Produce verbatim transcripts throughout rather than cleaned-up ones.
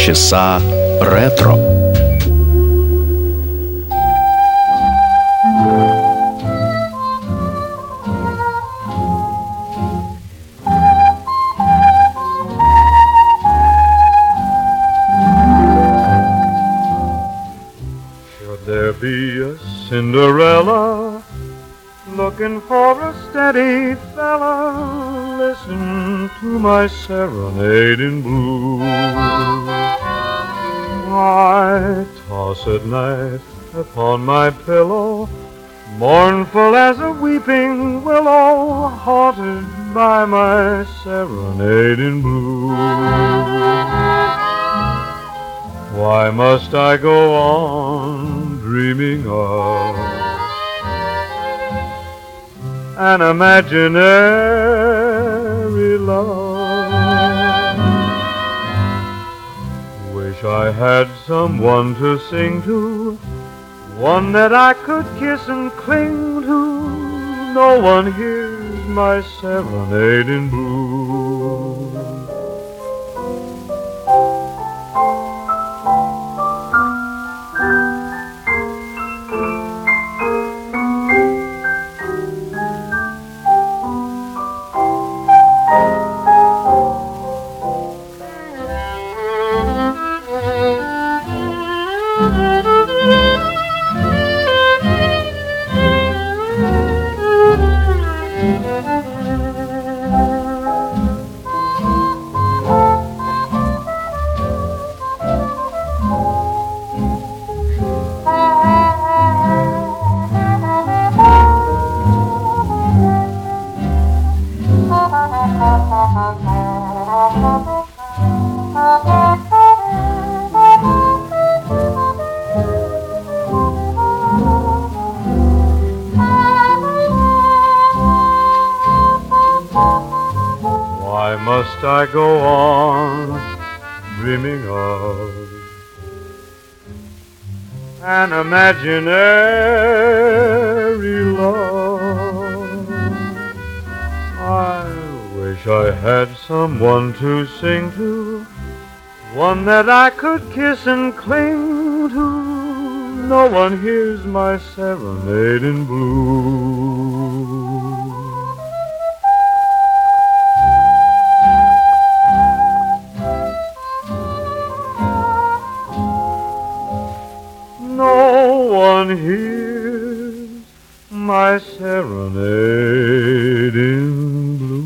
Полчаса ретро. Should there be a Cinderella looking for a steady fella, listen to my serenade in blue. I toss at night upon my pillow, mournful as a weeping willow, haunted by my serenade in blue. Why must I go on dreaming of an imaginary love? Wish I had someone to sing to, one that I could kiss and cling to. No one hears my serenade in blue. Why must I go on dreaming of an imaginary love? I wish I had someone to sing to, one that I could kiss and cling to. No one hears my serenade in blue. No one hears my serenade in blue.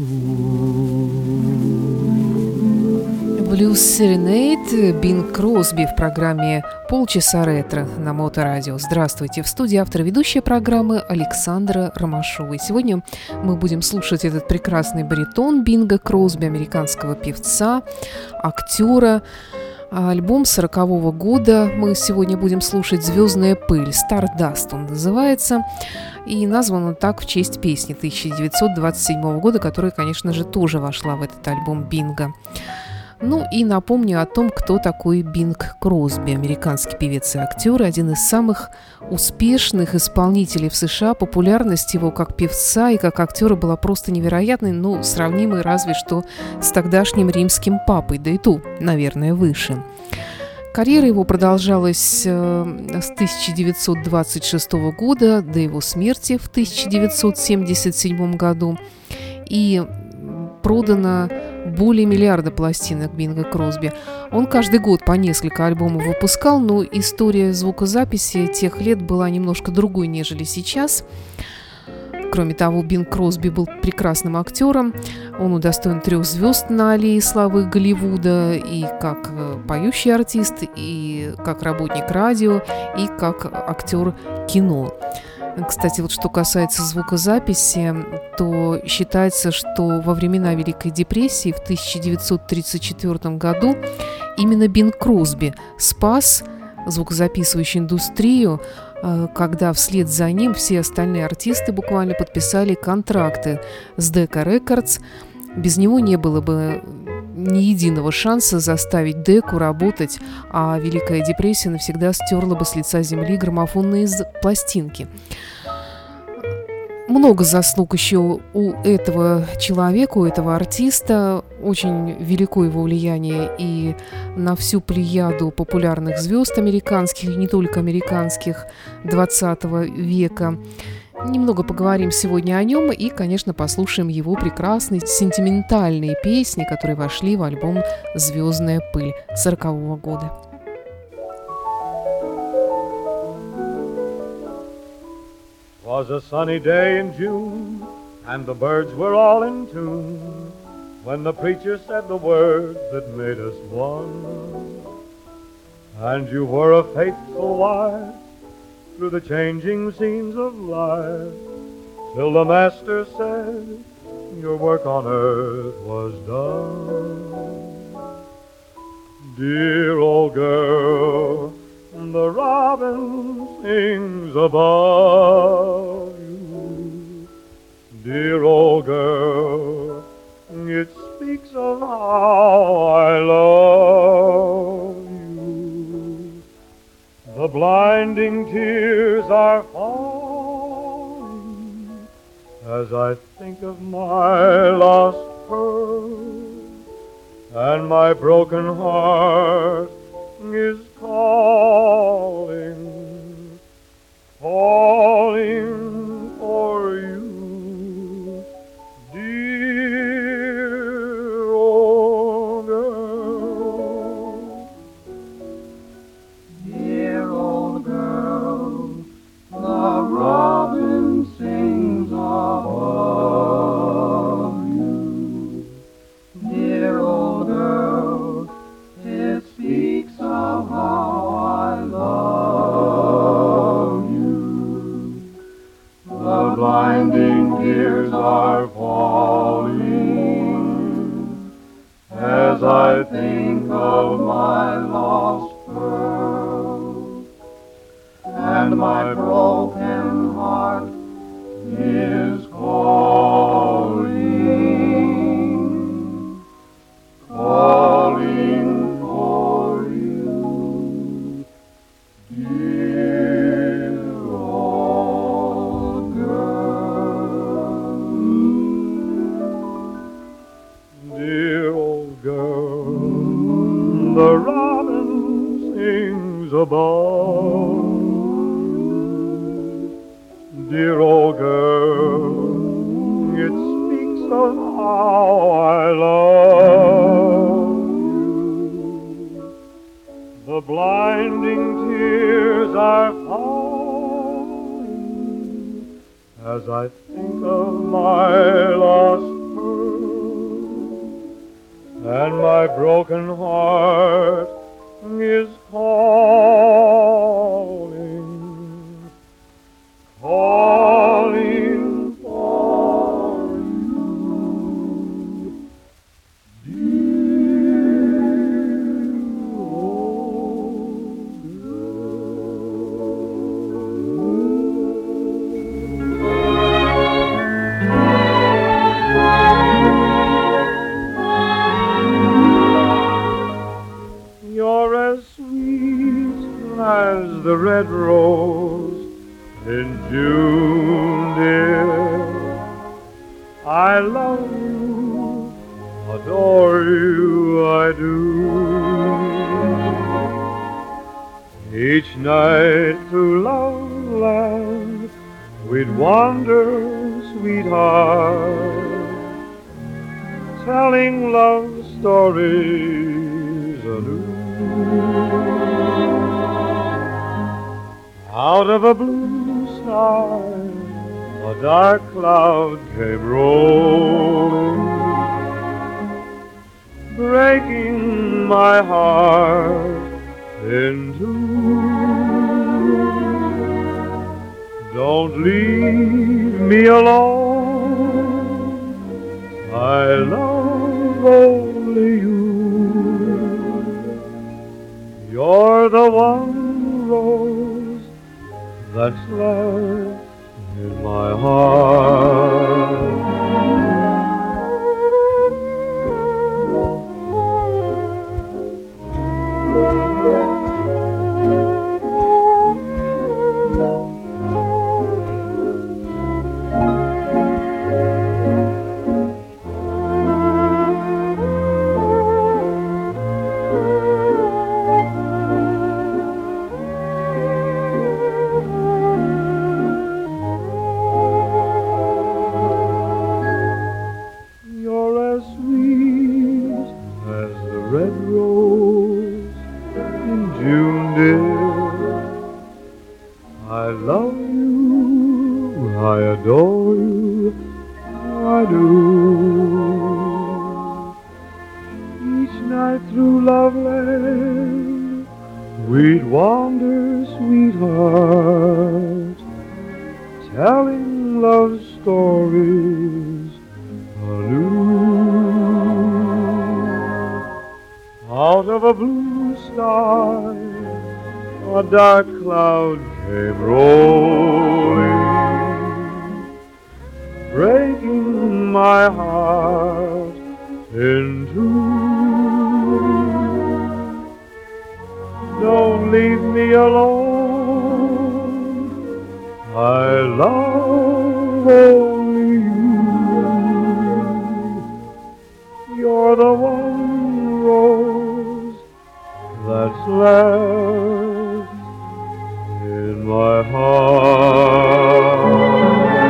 Blues Serenade, Бинг Кросби в программе «Полчаса ретро» на Моторадио. Здравствуйте! В студии автор и ведущая программы Александра Ромашова. И сегодня мы будем слушать этот прекрасный баритон Бинга Кросби, американского певца, актера. Альбом сорокового года мы сегодня будем слушать «Звездная пыль», «Stardust» он называется, и назван он так в честь песни тысяча девятьсот двадцать седьмого года, которая, конечно же, тоже вошла в этот альбом Бинга. Ну и напомню о том, кто такой Бинг Кросби, американский певец и актер, один из самых успешных исполнителей в США. Популярность его как певца и как актера была просто невероятной, ну, сравнимой разве что с тогдашним римским папой, да и ту, наверное, выше. Карьера его продолжалась э, с тысяча девятьсот двадцать шестого года до его смерти в тысяча девятьсот семьдесят седьмом году, и продано более миллиарда пластинок Бинга Кросби. Он каждый год по несколько альбомов выпускал, но история звукозаписи тех лет была немножко другой, нежели сейчас. Кроме того, Бинг Кросби был прекрасным актером. Он удостоен трех звезд на аллее славы Голливуда, и как поющий артист, и как работник радио, и как актер кино. Кстати, вот что касается звукозаписи, то считается, что во времена Великой депрессии в тысяча девятьсот тридцать четвёртом году именно Бинг Кросби спас звукозаписывающую индустрию, когда вслед за ним все остальные артисты буквально подписали контракты с Decca Records. Без него не было бы ни единого шанса заставить Деку работать, а Великая депрессия навсегда стерла бы с лица земли граммофонные пластинки. много заслуг еще у этого человека, у этого артиста. Очень велико его влияние и на всю плеяду популярных звезд американских, и не только американских, двадцатого века. Немного поговорим сегодня о нем и, конечно, послушаем его прекрасные сентиментальные песни, которые вошли в альбом «Звездная пыль» сорокового года. Was a sunny day in June, and the birds were all in tune, when the preacher said the words that made us one. And you were a faithful wife through the changing scenes of life, till the master said your work on earth was done. Dear old girl, the robin sings above you. Dear old girl, it speaks of how I love you. The blinding tears are falling as I think of my lost pearl, and my broken heart is calling, calling for you, dear old girl. Dear old girl, the robin sings above you. Dear old girl, it speaks of how I love you. The blinding tears are falling as I think of my lost pearl, and my broken heart is calling, calling for you, dear old girl. Dear old girl, the robin sings above. Dear old girl, it speaks of how I love you. The blinding tears are falling as I think of my lost and my broken heart is calling, calling for you, dear old You're as sweet as the red rose in June, dear. I love you, adore you, I do. Each night through Loveland we'd wander, sweetheart, telling love stories anew. Out of a blue sky, a dark cloud came rolling, breaking my heart in two. Don't leave me alone, I love only you. You're the one rose that's left in my heart. of land, we'd wander, sweetheart, telling love stories anew. Out of a blue sky, a dark cloud came rolling, breaking my heart in two. Don't leave me alone, I love only you. You're the one rose that's left in my heart.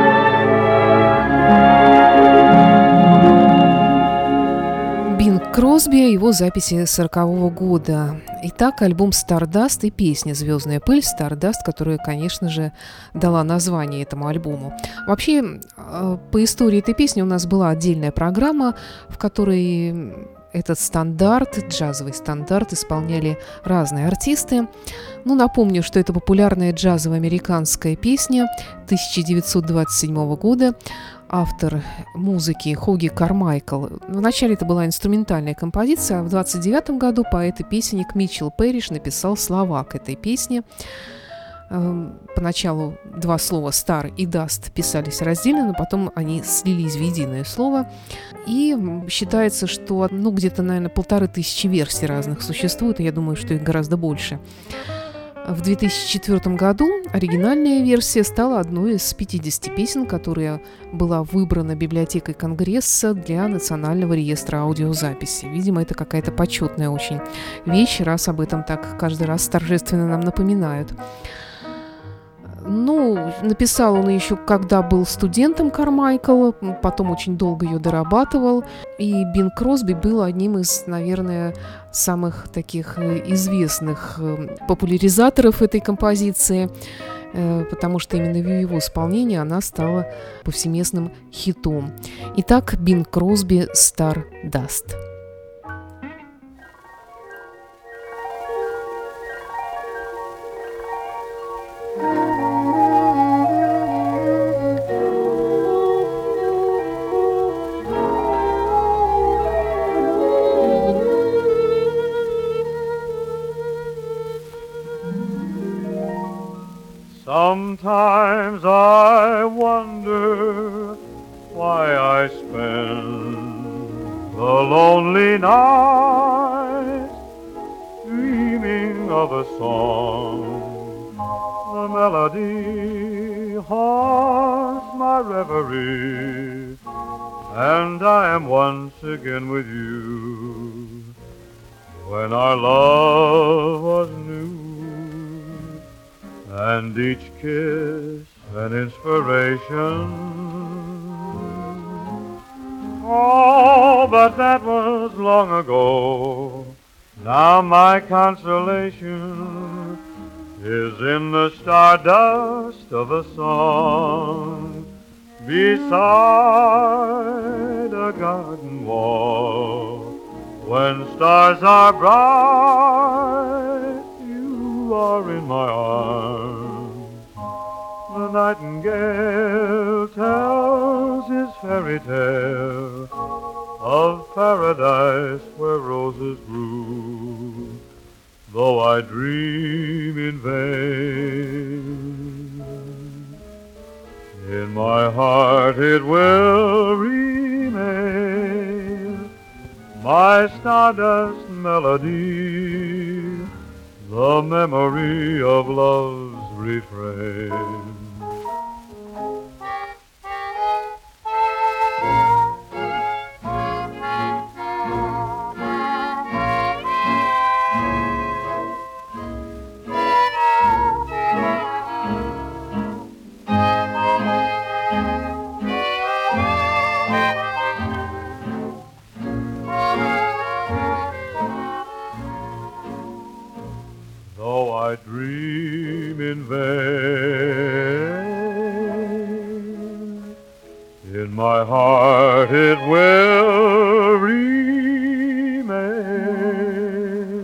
Бинг Кросби, его записи сорокового года. Итак, альбом «Стардаст» и песня «Звездная пыль» «Стардаст», которая, конечно же, дала название этому альбому. Вообще, по истории этой песни у нас была отдельная программа, в которой этот стандарт, джазовый стандарт, исполняли разные артисты. Ну, напомню, что это популярная джазово-американская песня тысяча девятьсот двадцать седьмого года. Автор музыки Хоги Кармайкл. Вначале это была инструментальная композиция, а в двадцать девятом году поэт-песенник Митчелл Пэриш написал слова к этой песне. Поначалу два слова «стар» и «даст» писались раздельно, но потом они слились в единое слово. И считается, что ну, где-то, наверное, полторы тысячи версий разных существует, и я думаю, что их гораздо больше. В две тысячи четвёртом году оригинальная версия стала одной из пятидесяти песен, которая была выбрана библиотекой Конгресса для Национального реестра аудиозаписи. Видимо, это какая-то почетная очень вещь, раз об этом так каждый раз торжественно нам напоминают. Ну, написал он еще, когда был студентом Кармайкл, потом очень долго ее дорабатывал. И Бинг Кросби был одним из, наверное, самых таких известных популяризаторов этой композиции, потому что именно в его исполнении она стала повсеместным хитом. Итак, Бинг Кросби «Стардаст». Sometimes I wonder why I spend the lonely night dreaming of a song. The melody haunts my reverie, and I am once again with you when our love was new. And each kiss an inspiration. Oh, but that was long ago. Now my consolation is in the stardust of a song beside a garden wall. When stars are bright, you are in my arms. The nightingale tells his fairy tale of paradise where roses grew, though I dream in vain. In my heart it will remain, my stardust melody, the memory of love's refrain. I dream in vain. In my heart it will remain,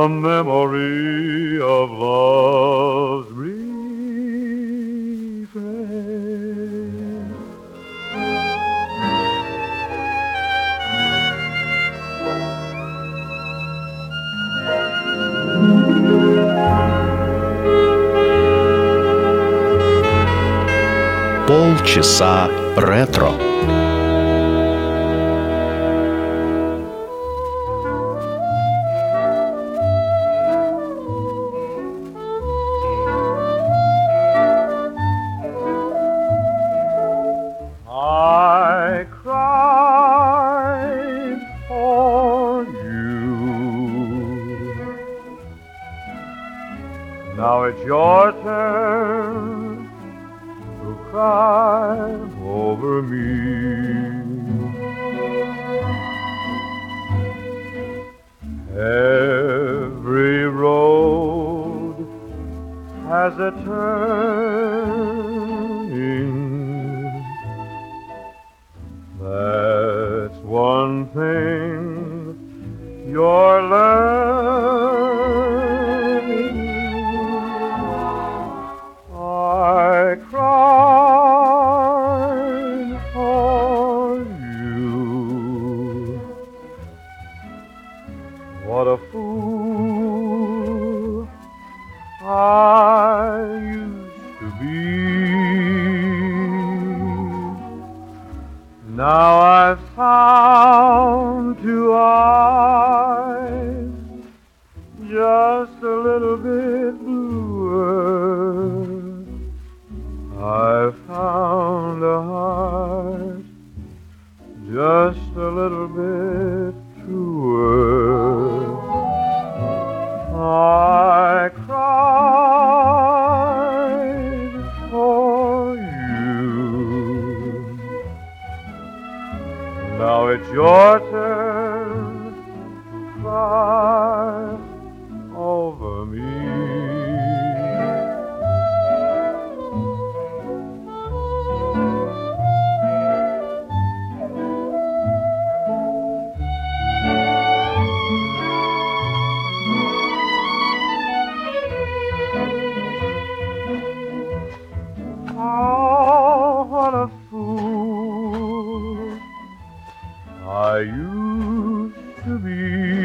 the memory of love's refrain. Полчаса ретро. I cried for you. Now it's your turn to cry over me. Every road has a turning. That's one thing you're learning. I cried for you. What a fool I used to be. Now I've found two eyes just a little bit bluer. I've found a heart just a little bit truer. I cried for you. Now it's your turn to cry over me. Oh, what a fool I used to be.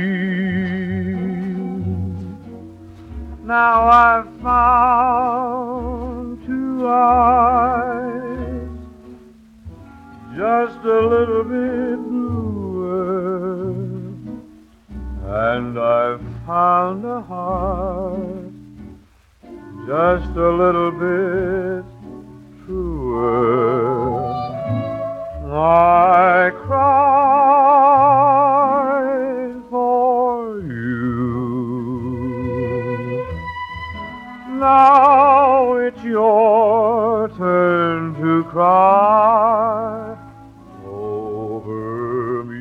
Now I've found two eyes just a little bit bluer, and I've found a heart just a little bit truer. I cried for you. Now it's your turn to cry over me.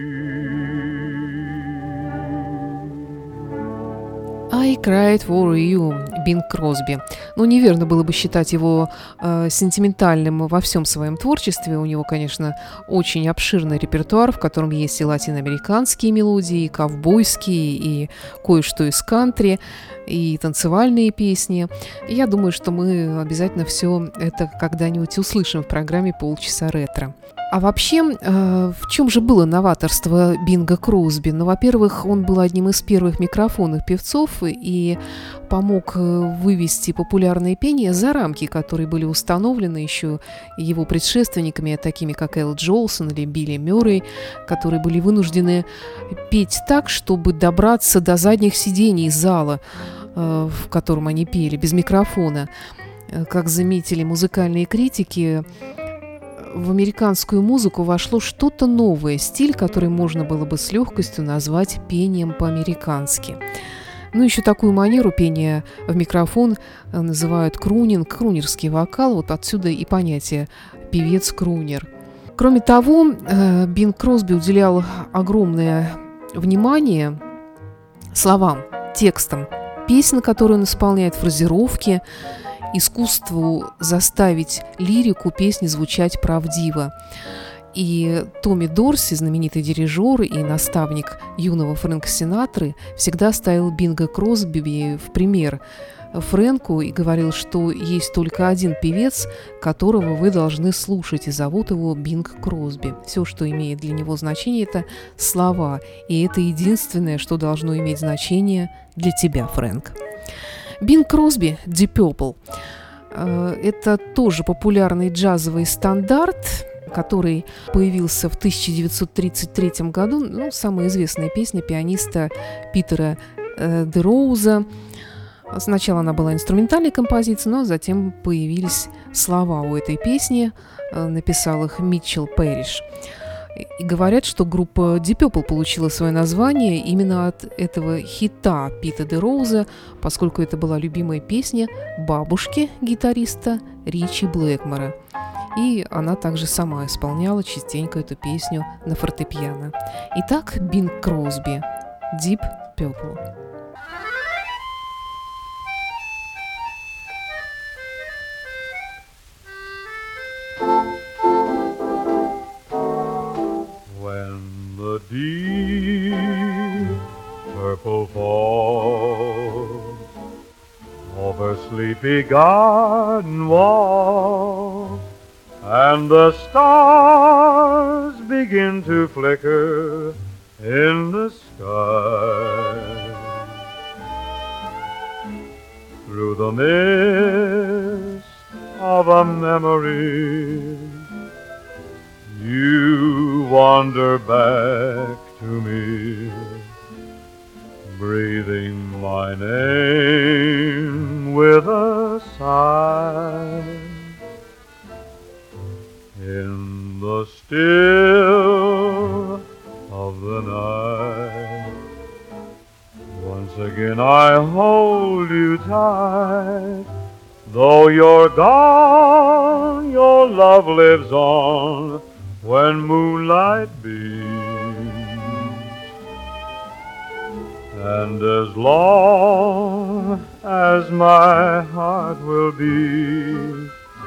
I cried for you. Бинг Кросби. Ну, неверно было бы считать его э, сентиментальным во всем своем творчестве. У него, конечно, очень обширный репертуар, в котором есть и латиноамериканские мелодии, и ковбойские, и кое-что из кантри, и танцевальные песни. И я думаю, что мы обязательно все это когда-нибудь услышим в программе «Полчаса ретро». А вообще, э, в чем же было новаторство Бинга Кросби? Ну, во-первых, он был одним из первых микрофонных певцов и помог вывести популярное пение за рамки, которые были установлены еще его предшественниками, такими как Эл Джолсон или Билли Мюррей, которые были вынуждены петь так, чтобы добраться до задних сидений зала, э, в котором они пели, без микрофона. Как заметили музыкальные критики, в американскую музыку вошло что-то новое, стиль, который можно было бы с легкостью назвать пением по-американски. Ну, еще такую манеру пения в микрофон называют крунинг, крунерский вокал, вот отсюда и понятие «певец-крунер». Кроме того, Бинг Кросби уделял огромное внимание словам, текстам песен, которые он исполняет, фразировки, искусству заставить лирику песни звучать правдиво. И Томми Дорси, знаменитый дирижер и наставник юного Фрэнка Синатры, всегда ставил Бинга Кросби в пример Фрэнку и говорил, что есть только один певец, которого вы должны слушать, и зовут его Бинг Кросби. Все, что имеет для него значение, это слова, и это единственное, что должно иметь значение для тебя, Фрэнк. Бинг Кросби, Deep Purple. Это тоже популярный джазовый стандарт, который появился в тысяча девятьсот тридцать третьем году. Ну, самая известная песня пианиста Питера э, де Роуза. Сначала она была инструментальной композицией, но затем появились слова у этой песни. Э, написал их Митчелл Пэриш. И говорят, что группа Deep Purple получила свое название именно от этого хита Пита де Роуза, поскольку это была любимая песня бабушки гитариста Ричи Блэкмора. И она также сама исполняла частенько эту песню на фортепиано. Итак, Бинг Кросби, Deep Purple. When the deep purple falls over sleepy garden walls, and the stars begin to flicker in the sky, through the mist of a memory, you wander back to me, breathing my name with a sigh. In the still of the night, once again I hold you tight. Though you're gone, your love lives on when moonlight beams. And as long as my heart will beat,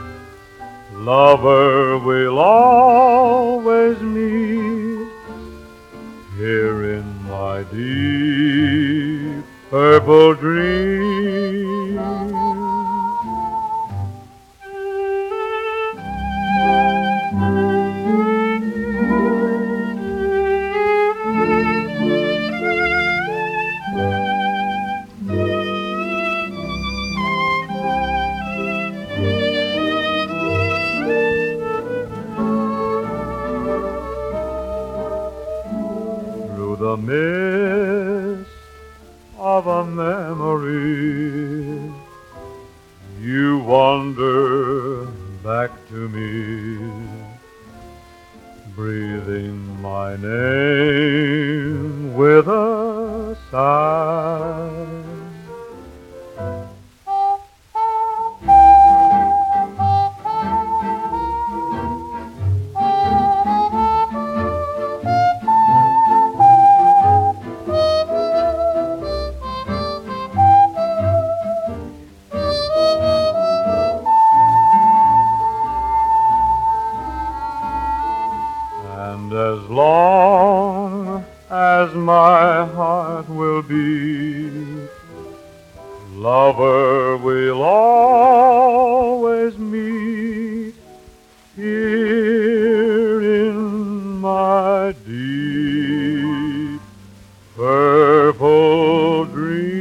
lover will always meet here in my deep purple dream. The mist of a memory, you wander back to me, breathing my name with a sigh. As long as my heart will beat, lover will always meet here in my deep purple dream.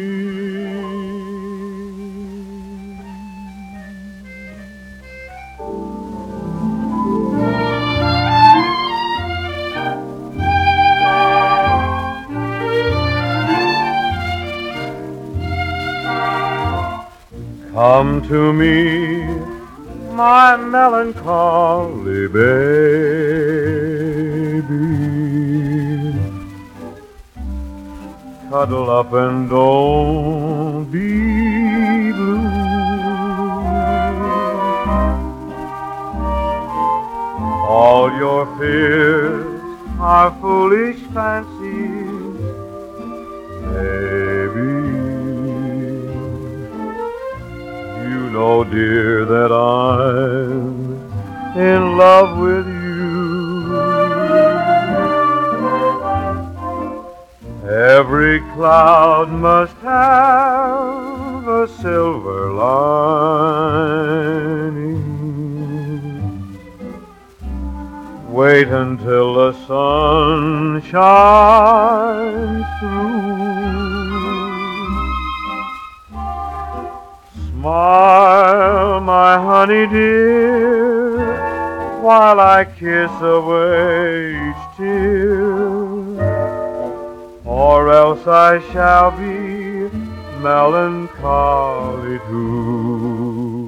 Come to me, my melancholy baby. Cuddle up and don't be blue. All your fears are foolish fancies, baby. You know, dear, that I'm in love with you. Every cloud must have a silver lining. Wait until the sun shines through. Smile, my honey dear, while I kiss away each tear, or else I shall be melancholy too.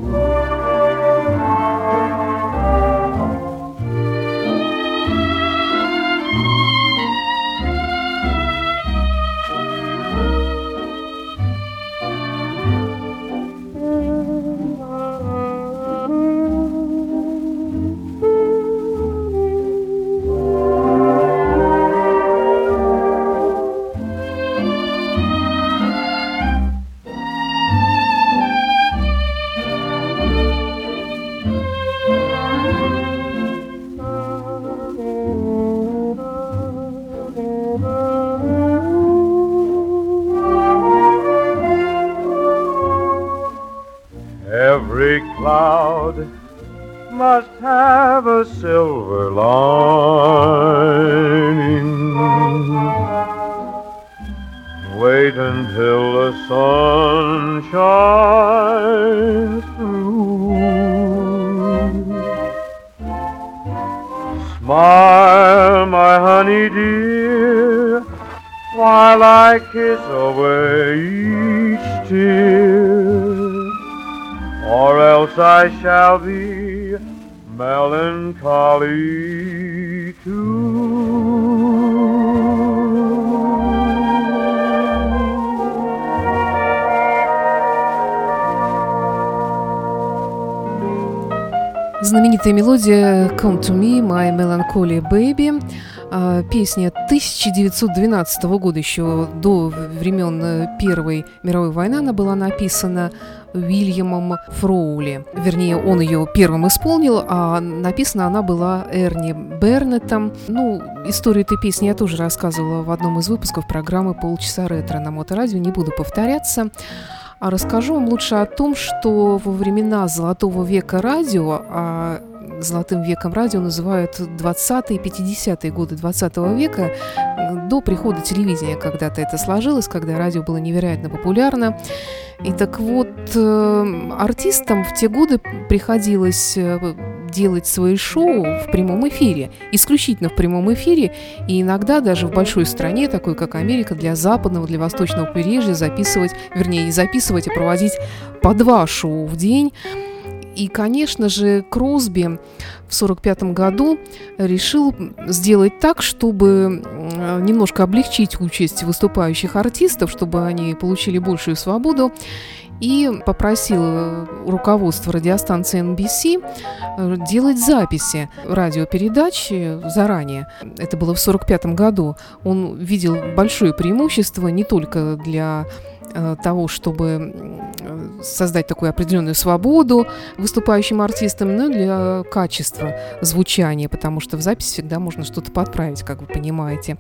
Every cloud must have a silver lining. Wait until the sun shines through. Smile, my honey dear, while I kiss away each tear, or else I shall be melancholy too. Знаменитая мелодия «Come to me, my melancholy baby», песня тысяча девятьсот двенадцатого года, еще до времен Первой мировой войны, она была написана Уильямом Фроули. Вернее, он ее первым исполнил, а написана она была Эрни Бернеттом. Ну, историю этой песни я тоже рассказывала в одном из выпусков программы «Полчаса ретро» на Моторадио, не буду повторяться. А расскажу вам лучше о том, что во времена золотого века радио, а золотым веком радио называют двадцатые и пятидесятые годы двадцатого века, до прихода телевидения когда-то это сложилось, когда радио было невероятно популярно. И так вот, артистам в те годы приходилось делать свои шоу в прямом эфире, исключительно в прямом эфире, и иногда даже в большой стране, такой как Америка, для западного, для восточного побережья записывать, вернее, не записывать, а проводить по два шоу в день. И, конечно же, Кросби в сорок пятом году решил сделать так, чтобы немножко облегчить участь выступающих артистов, чтобы они получили большую свободу, и попросил руководство радиостанции эн би си делать записи радиопередач заранее. Это было в сорок пятом году. Он видел большое преимущество не только для того, чтобы создать такую определенную свободу выступающим артистам, но и для качества звучания, потому что в записи всегда можно что-то подправить, как вы понимаете.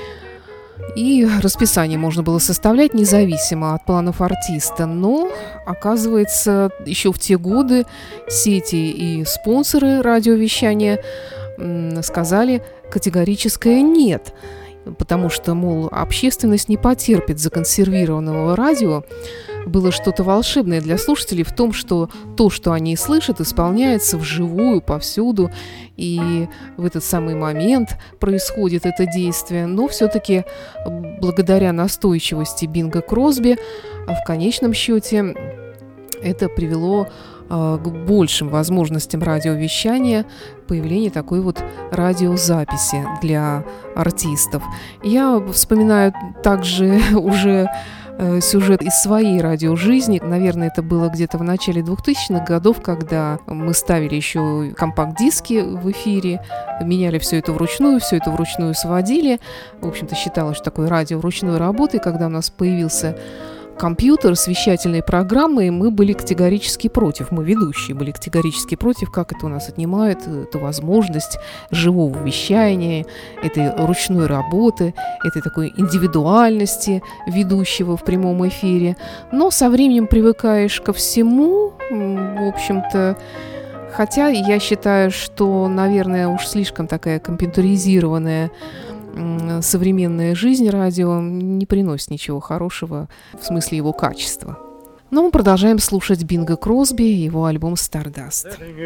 И расписание можно было составлять независимо от планов артиста. Но, оказывается, еще в те годы сети и спонсоры радиовещания сказали категорическое «нет». Потому что, мол, общественность не потерпит законсервированного радио. Было что-то волшебное для слушателей в том, что то, что они слышат, исполняется вживую, повсюду, и в этот самый момент происходит это действие. Но все-таки благодаря настойчивости Бинга Кросби в конечном счете это привело к большим возможностям радиовещания, появление такой вот радиозаписи для артистов. Я вспоминаю также уже сюжет из своей радиожизни. Наверное, это было где-то в начале двухтысячных годов, когда мы ставили еще компакт-диски в эфире, меняли все это вручную, все это вручную сводили. В общем-то, считалось, что такое радио ручной работы. Когда у нас появился компьютер с вещательной программой, мы были категорически против, мы ведущие были категорически против, как это у нас отнимает эту возможность живого вещания, этой ручной работы, этой такой индивидуальности ведущего в прямом эфире. Но со временем привыкаешь ко всему, в общем-то. Хотя я считаю, что, наверное, уж слишком такая компьютеризированная современная жизнь радио не приносит ничего хорошего в смысле его качества. Но мы продолжаем слушать Бинга Кросби и его альбом «Stardust».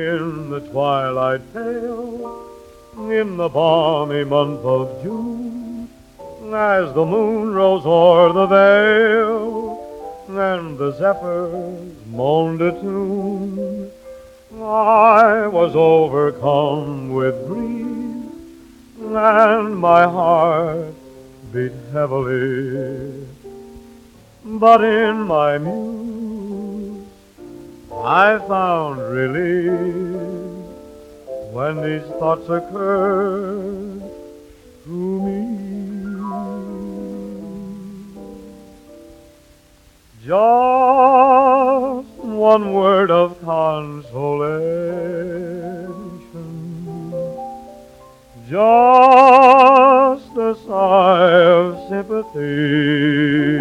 In the balmy month of June, as the moon rose o'er the vale, and the zephyrs moaned a tune, I was overcome with grief, and my heart beat heavily. But in my muse I found relief when these thoughts occurred to me. Just one word of consolation, just a sigh of sympathy,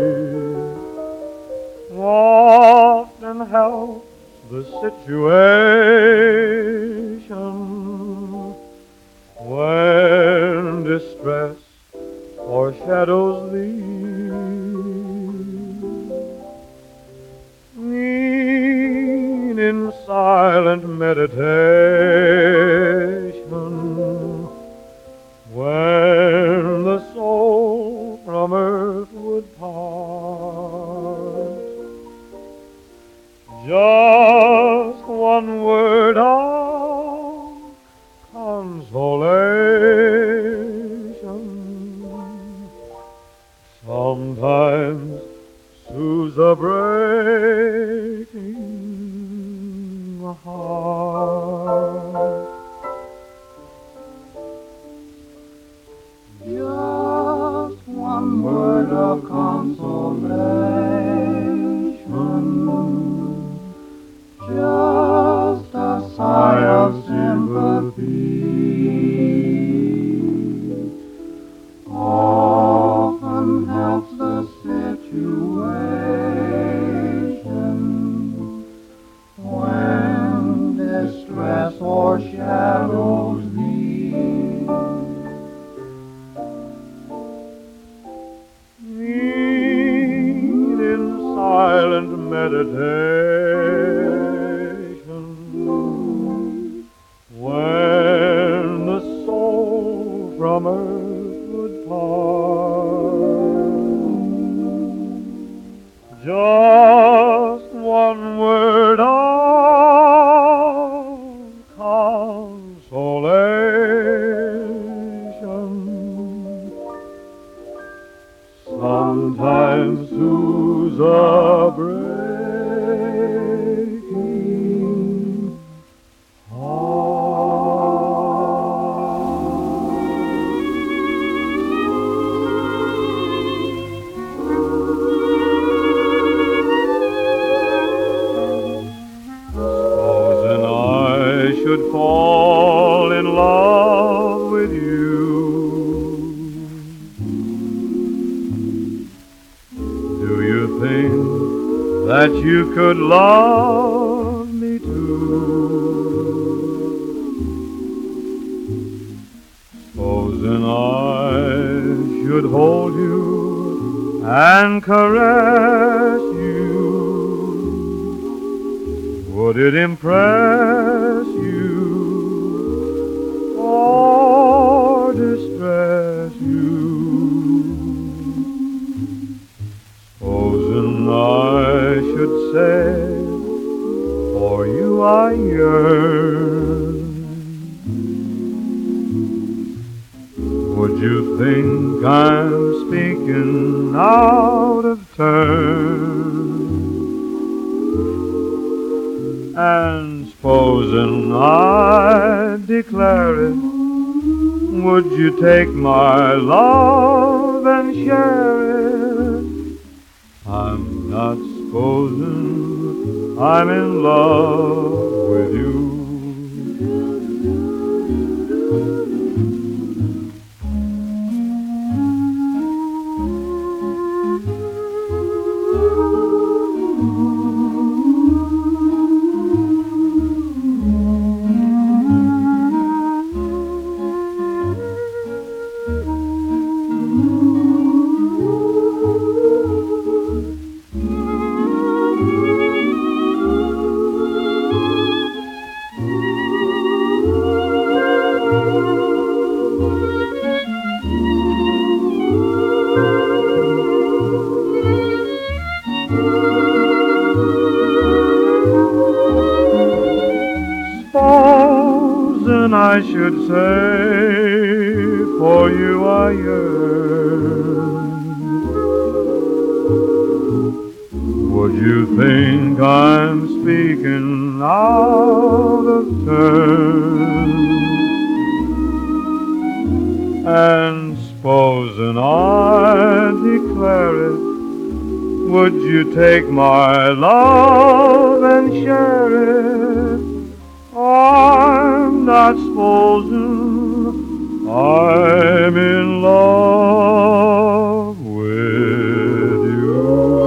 often helps the situation when distress foreshadows thee. Lean in silent meditation when the soul from earth would part. Just one word of consolation sometimes soothes a breaking heart. Just one word of consolation, just a sigh of sympathy, often helps the situation when distress o'ershadows thee. Lean in silent meditation when the soul from earth would part. Just one word of consolation sometimes soothes a breaking Supposing I should fall in love with you, do you think that you could love me too? Supposing I should hold you and caress you, would it impress you or distress you? Supposing I should say, for you I yearn, would you think I'm speaking out of turn? And supposing I declare it, would you take my love and share it? I'm not supposing I'm in love with you. I should say, for you I yearn. Would you think I'm speaking out of turn? And supposing I declare it, would you take my love and share it? I'm not supposing I'm in love with you.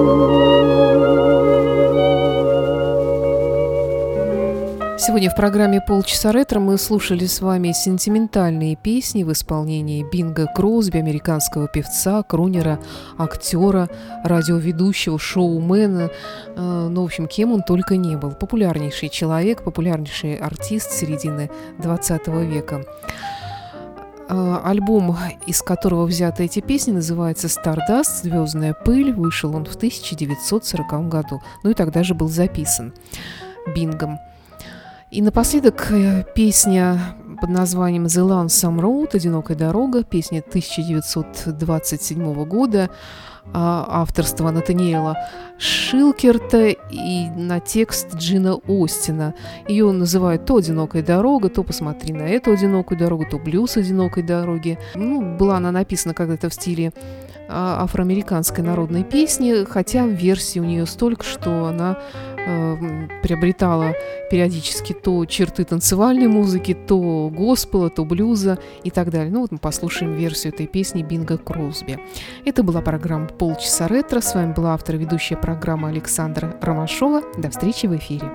Сегодня в программе «Полчаса ретро» мы слушали с вами сентиментальные песни в исполнении Бинга Кросби, американского певца, крунера, актера, радиоведущего, шоумена. Ну, в общем, кем он только не был. Популярнейший человек, популярнейший артист середины двадцатого века. Альбом, из которого взяты эти песни, называется «Stardust», «Звездная пыль». Вышел он в тысяча девятьсот сороковом году. Ну и тогда же был записан Бингом. И напоследок песня под названием «The Lonesome Road», «Одинокая дорога», песня тысяча девятьсот двадцать седьмого года, авторства Натаниэла Шилкерта и на текст Джина Остина. Ее называют то «Одинокая дорога», то «Посмотри на эту одинокую дорогу», то «Блюз одинокой дороги». Ну, была она написана когда-то в стиле афроамериканской народной песни, хотя версий у нее столько, что она э, приобретала периодически то черты танцевальной музыки, то госпела, то блюза и так далее. Ну вот мы послушаем версию этой песни Бинга Кросби. Это была программа «Полчаса ретро». С вами была автор и ведущая программы Александра Ромашова. До встречи в эфире.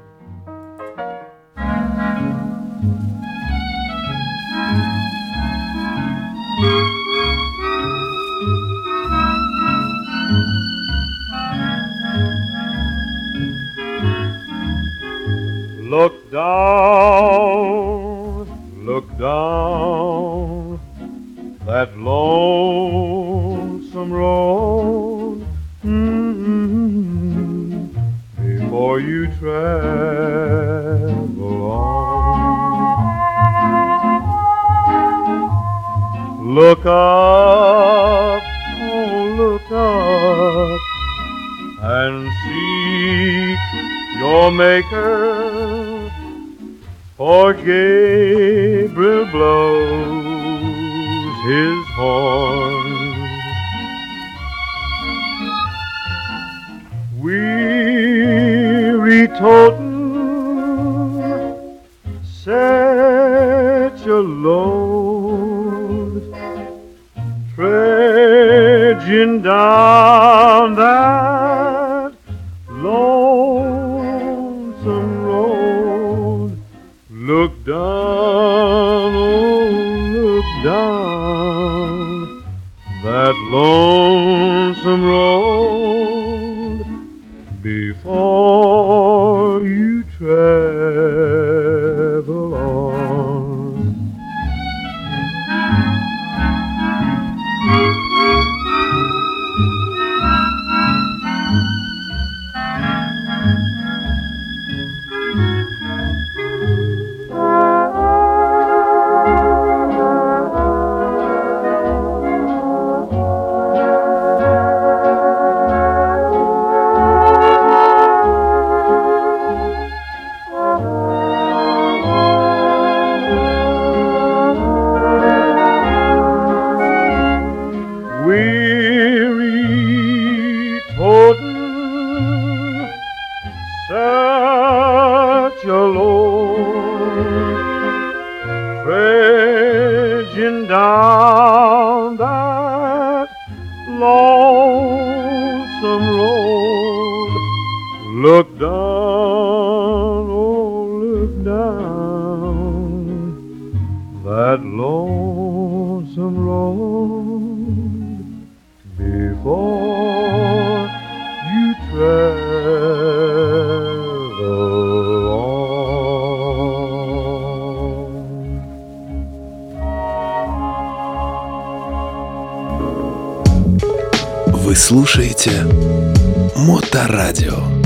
Look down, look down that lonesome road, mm-hmm, before you travel on. Look up, oh look up and seek your Maker, for Gabriel blows his horn. Weary totin', set your load, trudging down that lonesome road. Look down, oh, look down that lonesome road before you travel on. such a load, trudging down that lonesome road. Look down, oh, look down that lonesome road before you travel on. Вы слушаете Моторадио.